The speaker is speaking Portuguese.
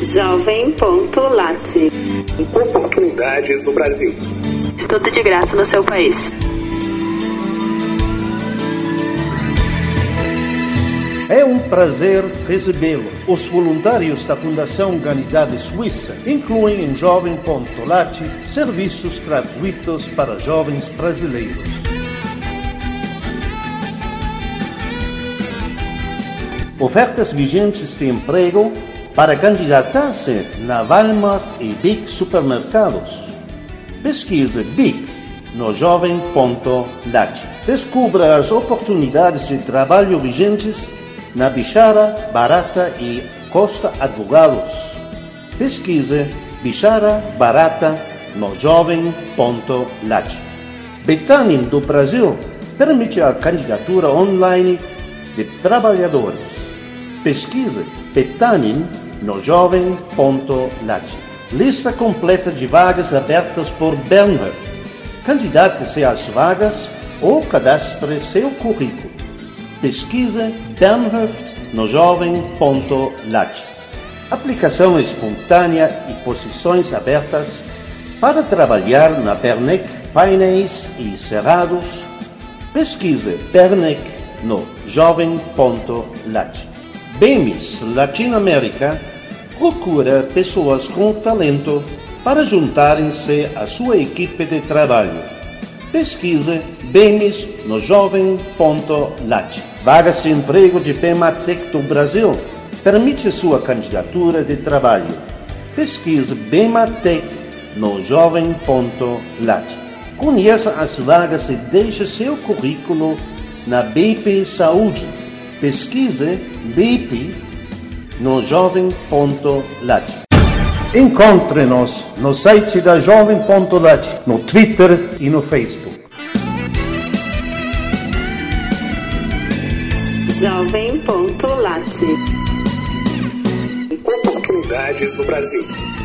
Jovem.lat. Oportunidades no Brasil. Tudo de graça no seu país. É um prazer recebê-lo. Os voluntários da Fundação Humanidade Suíça incluem em Jovem.lat serviços gratuitos para jovens brasileiros. Ofertas vigentes de emprego para candidatar-se na Walmart e BIC Supermercados. Pesquise BIC no Jovem.lat. Descubra as oportunidades de trabalho vigentes na Bichara, Barata e Costa Advogados. Pesquise Bichara, Barata no Jovem.lat. Betanin do Brasil permite a candidatura online de trabalhadores. Pesquise Betanin no Jovem.lat. Lista completa de vagas abertas por Bernhard. Candidate-se às vagas ou cadastre seu currículo. Pesquise Bernhard no Jovem.lat. Aplicação espontânea e posições abertas para trabalhar na Bernec Painéis e Cerrados. Pesquise Bernec no Jovem.lat. BEMIS Latinoamérica procura pessoas com talento para juntarem-se à sua equipe de trabalho. Pesquise BEMIS no Jovem.lat. Vagas de emprego de Bematec do Brasil permite sua candidatura de trabalho. Pesquise Bematec no Jovem.lat. Conheça as vagas e deixe seu currículo na BP Saúde. Pesquise BP no Jovem.lat. Encontre-nos no site da Jovem.lat, no Twitter e no Facebook. Jovem.lat. Oportunidades no Brasil.